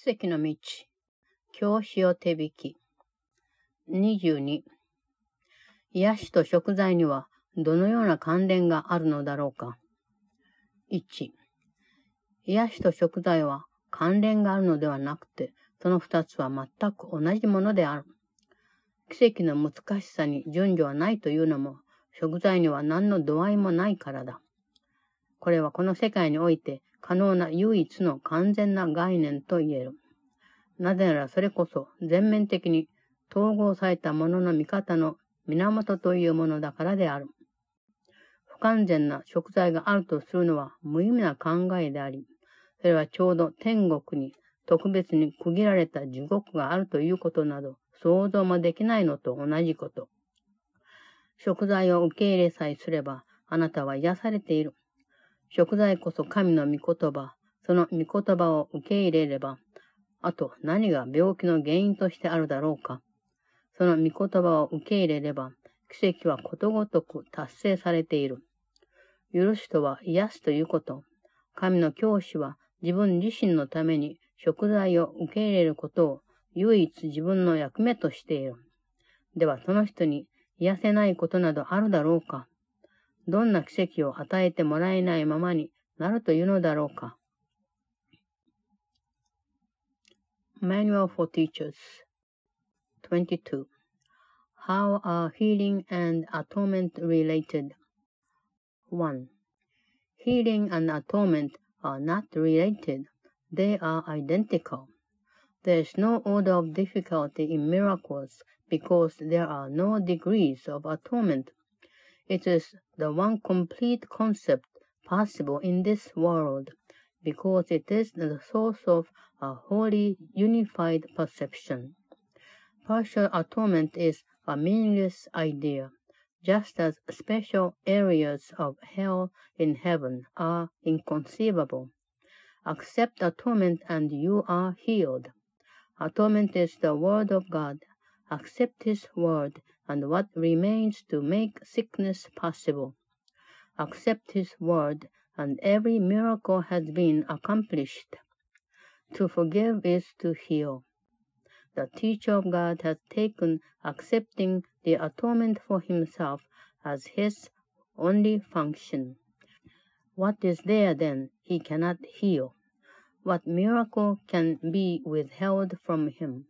奇跡の道、教師を手引き。22、癒しと贖罪にはどのような関連があるのだろうか。1、癒しと贖罪は関連があるのではなくて、その二つは全く同じものである。奇跡の難しさに順序はないというのも、贖罪には何の度合いもないからだ。これはこの世界において可能な唯一の完全な概念と言える。なぜならそれこそ全面的に統合されたものの見方の源というものだからである。不完全な贖罪があるとするのは無意味な考えであり、それはちょうど天国に特別に区切られた地獄があるということなど想像もできないのと同じこと。贖罪を受け入れさえすればあなたは癒されている。贖罪こそ神の御言葉、その御言葉を受け入れれば、あと何が病気の原因としてあるだろうか。その御言葉を受け入れれば、奇跡はことごとく達成されている。許しとは癒すということ。神の教師は自分自身のために贖罪を受け入れることを唯一自分の役目としている。ではその人に癒せないことなどあるだろうか。どんな奇跡を与えてもらえないままになるというのだろうか。Manual for Teachers 22. How are healing and atonement related? 1. Healing and atonement are not related. They are identical. There is no order of difficulty in miracles because there are no degrees of atonement.It is the one complete concept possible in this world, because it is the source of a wholly unified perception. Partial atonement is a meaningless idea, just as special areas of hell in heaven are inconceivable. Accept atonement and you are healed. Atonement is the word of God.Accept His word and what remains to make sickness possible. Accept His word and every miracle has been accomplished. To forgive is to heal. The teacher of God has taken accepting the atonement for himself as his only function. What is there then he cannot heal? What miracle can be withheld from him?2.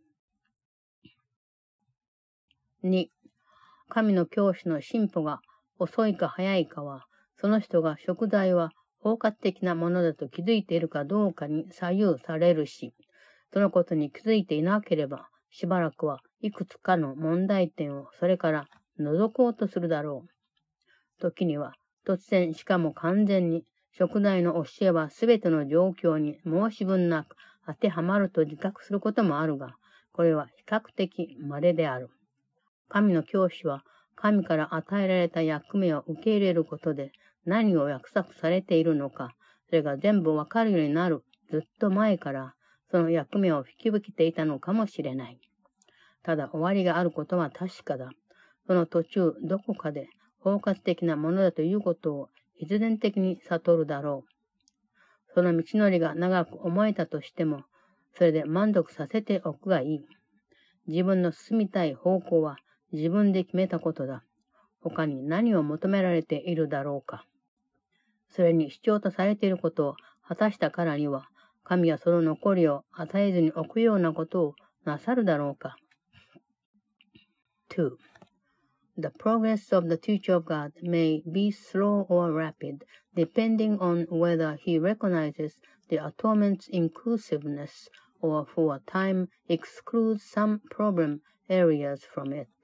神の教師の進歩が遅いか早いかは、その人が贖罪は包括的なものだと気づいているかどうかに左右されるし、そのことに気づいていなければ、しばらくはいくつかの問題点をそれから除こうとするだろう。時には、突然しかも完全に、贖罪の教えはすべての状況に申し分なく当てはまると自覚することもあるが、これは比較的稀である。神の教師は神から与えられた役目を受け入れることで何を約束されているのか、それが全部わかるようになるずっと前からその役目を引き受けていたのかもしれない。ただ終わりがあることは確かだ。その途中どこかで包括的なものだということを必然的に悟るだろう。その道のりが長く思えたとしても、それで満足させておくがいい。自分の進みたい方向は自分で決めたことだ。他に何を求められているだろうか。それに必要とされていることを果たしたからには、神はその残りを与えずに置くようなことをなさるだろうか。2. The progress of the teacher of God may be slow or rapid, depending on whether he recognizes the atonement's inclusiveness or for a time excludes some problem areas from it.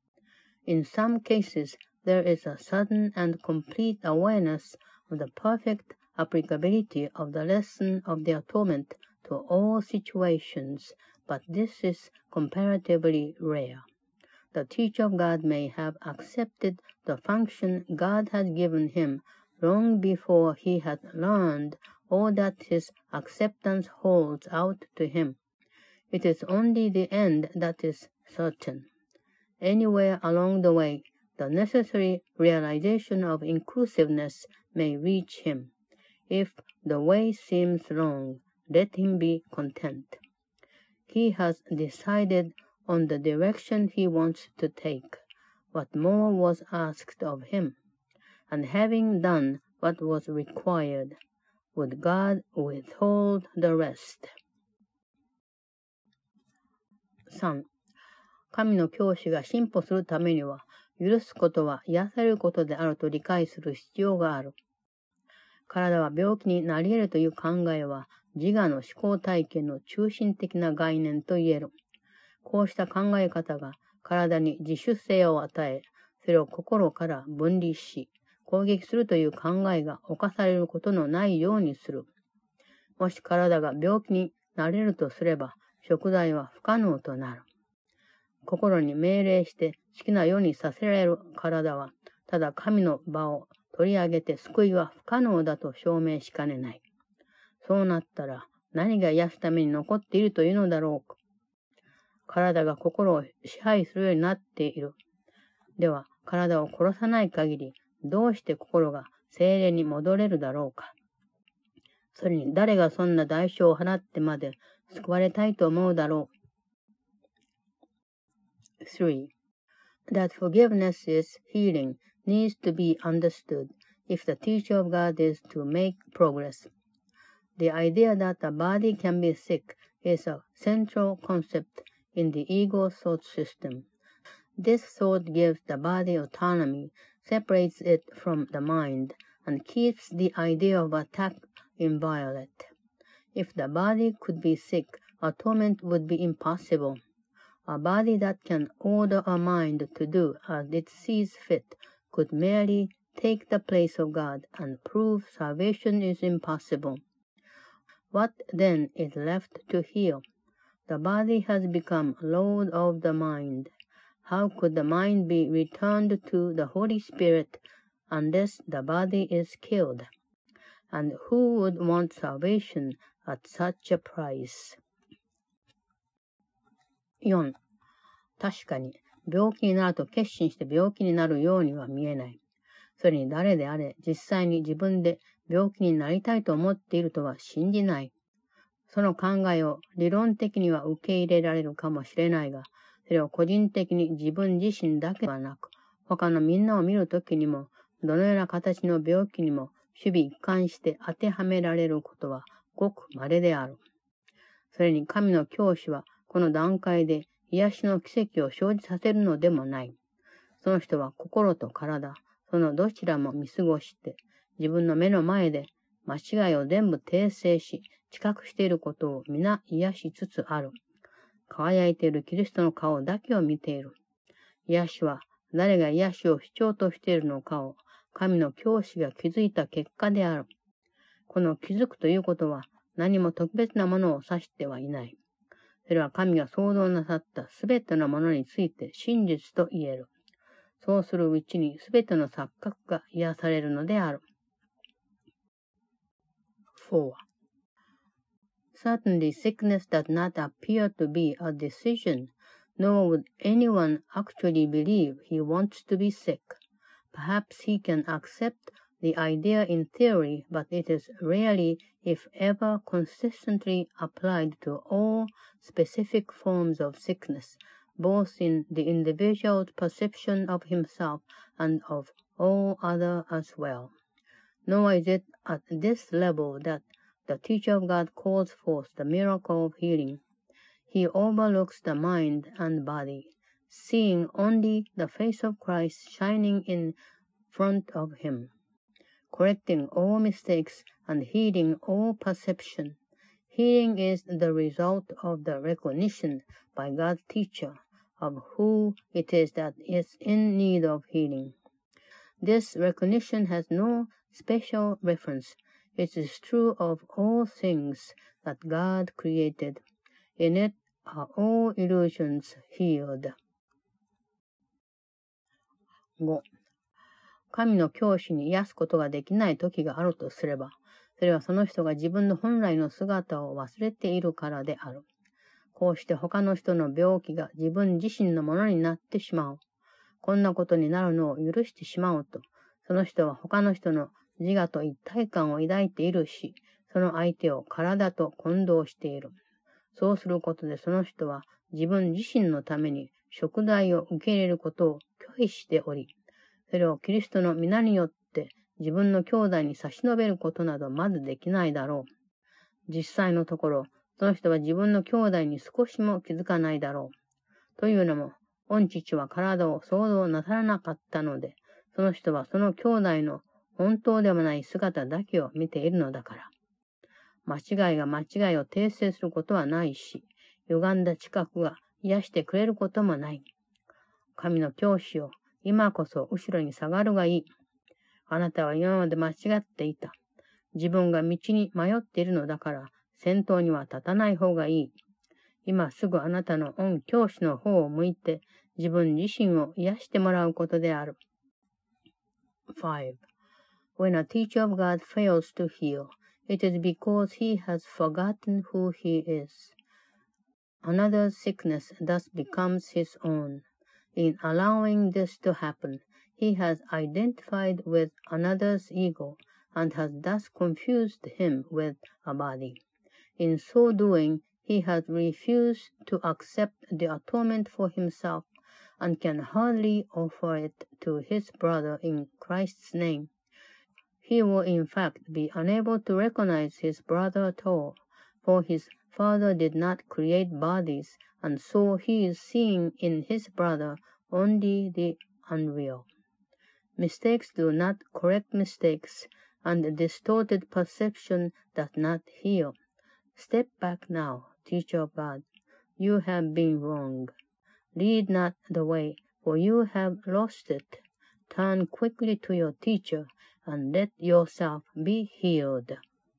In some cases, there is a sudden and complete awareness of the perfect applicability of the lesson of the atonement to all situations, but this is comparatively rare.The teacher of God may have accepted the function God had given him long before he had learned all that his acceptance holds out to him. It is only the end that is certain. Anywhere along the way, the necessary realization of inclusiveness may reach him. If the way seems long, let him be content. he has decided on the direction he wants to take, what more was asked of him, and having done what was required, would God withhold the rest? 3. 神の教師が進歩するためには、許すことは癒されることであると理解する必要がある。体は病気になり得るという考えは、自我の思考体験の中心的な概念と言える。こうした考え方が体に自主性を与え、それを心から分離し、攻撃するという考えが侵されることのないようにする。もし体が病気になれるとすれば、贖罪は不可能となる。心に命令して好きなようにさせられる体は、ただ神の場を取り上げて救いは不可能だと証明しかねない。そうなったら何が癒すために残っているというのだろうか。体が心を支配するようになっている。では、体を殺さない限り、どうして心が精霊に戻れるだろうか。それに誰がそんな代償を払ってまで救われたいと思うだろう。3. That forgiveness is healing needs to be understood if the teacher of God is to make progress. The idea that the body can be sick is a central concept in the ego thought system. This thought gives the body autonomy, separates it from the mind, and keeps the idea of attack inviolate. If the body could be sick, atonement would be impossible. A body that can order a mind to do as it sees fit could merely take the place of God and prove salvation is impossible. What then is left to heal? The body has become lord of the mind. How could the mind be returned to the Holy Spirit unless the body is killed? And who would want salvation at such a price? 4. 確かに、病気になると決心して病気になるようには見えない。それに誰であれ、実際に自分で病気になりたいと思っているとは信じない。その考えを理論的には受け入れられるかもしれないが、それを個人的に自分自身だけではなく、他のみんなを見るときにも、どのような形の病気にも守備一貫して当てはめられることはごく稀である。それに神の教師はこの段階で癒しの奇跡を生じさせるのでもない。その人は心と体、そのどちらも見過ごして、自分の目の前で間違いを全部訂正し、知覚していることを皆癒しつつある。輝いているキリストの顔だけを見ている。癒しは誰が癒しを主張としているのかを神の教師が気づいた結果である。この気づくということは何も特別なものを指してはいない。それは神が創造なさったすべてのものについて真実と言える。そうするうちにすべての錯覚が癒されるのである。4. Certainly sickness does not appear to be a decision, nor would anyone actually believe he wants to be sick. Perhaps he can accept the idea in theory, but it is rarely, if ever, consistently applied to all specific forms of sickness, both in the individual's perception of himself and of all others as well. Nor is it at this level that the teacher of God calls forth the miracle of healing. He overlooks the mind and body, seeing only the face of Christ shining in front of him, correcting all mistakes and healing all perception. Healing is the result of the recognition by God's teacher of who it is that is in need of healing. This recognition has no special reference. It is true of all things that God created. In it are all illusions healed. 5. 神の教師に癒すことができない時があるとすれば、それはその人が自分の本来の姿を忘れているからである。こうして他の人の病気が自分自身のものになってしまう。こんなことになるのを許してしまうと、その人は他の人の自我と一体感を抱いているし、その相手を体と混同している。 そうすることでその人は自分自身のために贖罪を受け入れることを拒否しており、それをキリストの皆によって自分の兄弟に差し伸べることなどまずできないだろう。実際のところ、その人は自分の兄弟に少しも気づかないだろう。というのも、御父は体を想像なさらなかったので、その人はその兄弟の本当ではない姿だけを見ているのだから。間違いが間違いを訂正することはないし、歪んだ知覚が癒してくれることもない。神の教師よ、今こそ後ろに下がるがいい。あなたは今まで間違っていた。自分が道に迷っているのだから、先頭には立たない方がいい。今すぐあなたの御教師の方を向いて、自分自身を癒してもらうことである。5. When a teacher of God fails to heal, it is because he has forgotten who he is. Another's sickness thus becomes his own. In allowing this to happen, he has identified with another's ego and has thus confused him with a body. In so doing, he has refused to accept the atonement for himself and can hardly offer it to his brother in Christ's name. He will in fact be unable to recognize his brother at all, for his Father did not create bodies, and so he is seeing in his brother only the unreal. Mistakes do not correct mistakes, and distorted perception does not heal. Step back now, teacher of God. You have been wrong. Lead not the way, for you have lost it. Turn quickly to your teacher, and let yourself be healed.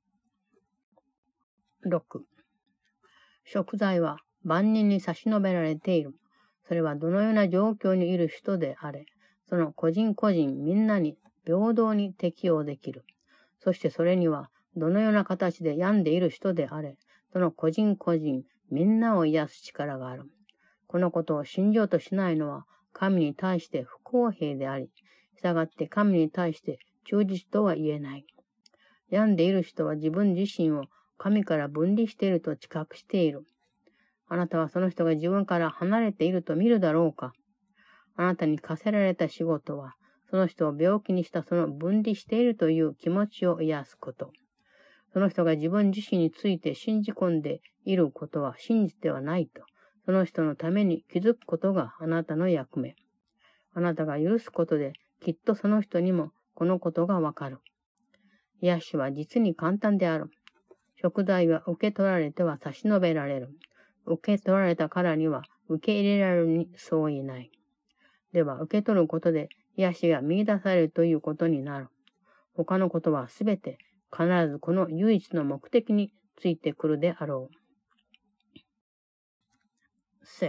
6. 贖罪は万人に差し伸べられている。それはどのような状況にいる人であれ、その個人個人みんなに平等に適用できる。そしてそれにはどのような形で病んでいる人であれ、その個人個人みんなを癒す力がある。このことを信じようとしないのは神に対して不公平であり、したがって神に対して忠実とは言えない。病んでいる人は自分自身を神から分離していると知覚している。あなたはその人が自分から離れていると見るだろうか。あなたに課せられた仕事は、その人を病気にしたその分離しているという気持ちを癒すこと。その人が自分自身について信じ込んでいることは真実ではないと、その人のために気づくことがあなたの役目。あなたが許すことで、きっとその人にもこのことがわかる。癒しは実に簡単である。贖罪は受け取られては差し伸べられる。受け取られたからには受け入れられるにそう言えない。では受け取ることで癒しが見出されるということになる。他のことはすべて必ずこの唯一の目的についてくるであろう。6.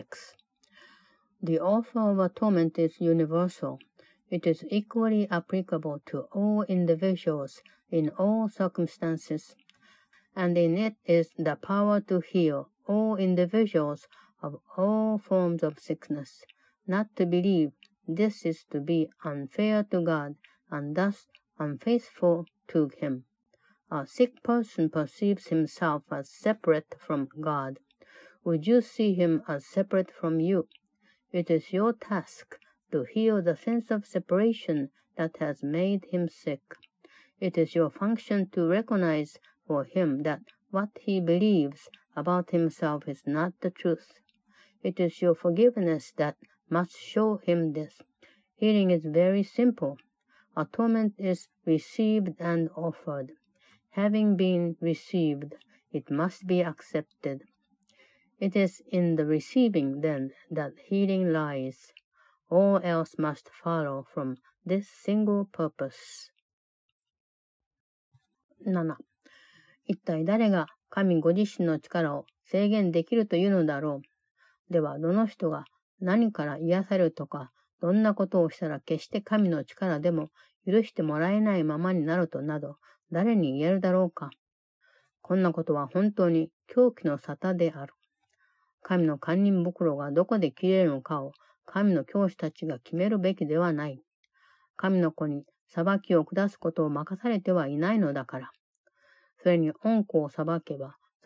The offer of atonement is universal. It is equally applicable to all individuals in all circumstances, and in it is the power to heal all individuals of all forms of sickness. Not to believe this is to be unfair to God, and thus unfaithful to Him. A sick person perceives himself as separate from God. Would you see him as separate from you? It is your task to heal the sense of separation that has made him sick. It is your function to recognize for him that what he believes about himself is not the truth. It is your forgiveness that must show him this. Healing is very simple. Atonement is received and offered. Having been received, it must be accepted. It is in the receiving, then, that healing lies. All else must follow from this single purpose. 7. 一体誰が神ご自身の力を制限できるというのだろう。では、どの人が何から癒されるとか、どんなことをしたら決して神の力でも許してもらえないままになるとなど、誰に言えるだろうか。こんなことは本当に狂気の沙汰である。神の堪忍袋がどこで切れるのかを神の教師たちが決めるべきではない。神の子に裁きを下すことを任されてはいないのだから。それに恩子を裁けば、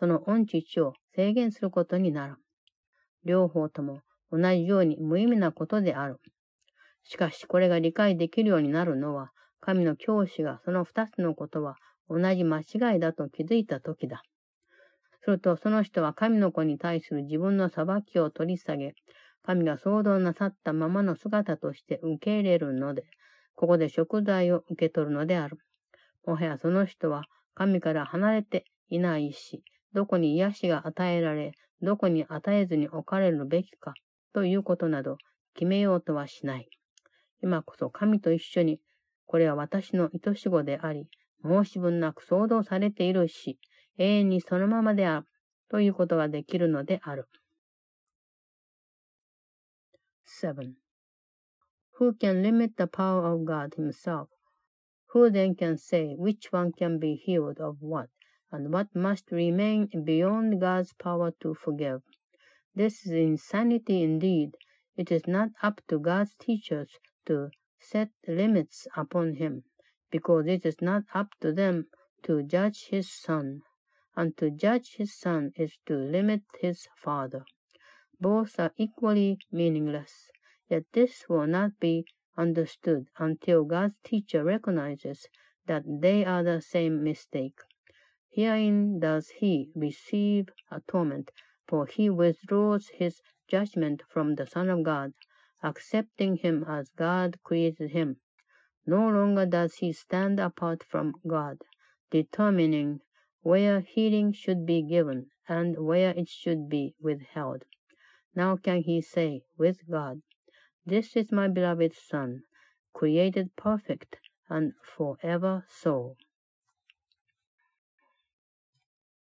その御父を制限することになる。両方とも同じように無意味なことである。しかしこれが理解できるようになるのは、神の教師がその二つのことは同じ間違いだと気づいたときだ。するとその人は神の子に対する自分の裁きを取り下げ、神が創造なさったままの姿として受け入れるので、ここで贖罪を受け取るのである。もはやその人は神から離れていないし、どこに癒しが与えられ、どこに与えずに置かれるべきかということなど決めようとはしない。今こそ神と一緒に、これは私の愛し子であり、申し分なく創造されているし、永遠にそのままであるということができるのである。7. Who can limit the power of God himself? Who then can say which one can be healed of what, and what must remain beyond God's power to forgive? This is insanity indeed. It is not up to God's teachers to set limits upon him, because it is not up to them to judge his son, and to judge his son is to limit his father. Both are equally meaningless, yet this will not be understood until God's teacher recognizes that they are the same mistake. Herein does he receive atonement, for he withdraws his judgment from the Son of God, accepting him as God created him. No longer does he stand apart from God, determining where healing should be given and where it should be withheld. Now can he say with God, "This is my beloved Son, created perfect and forever so."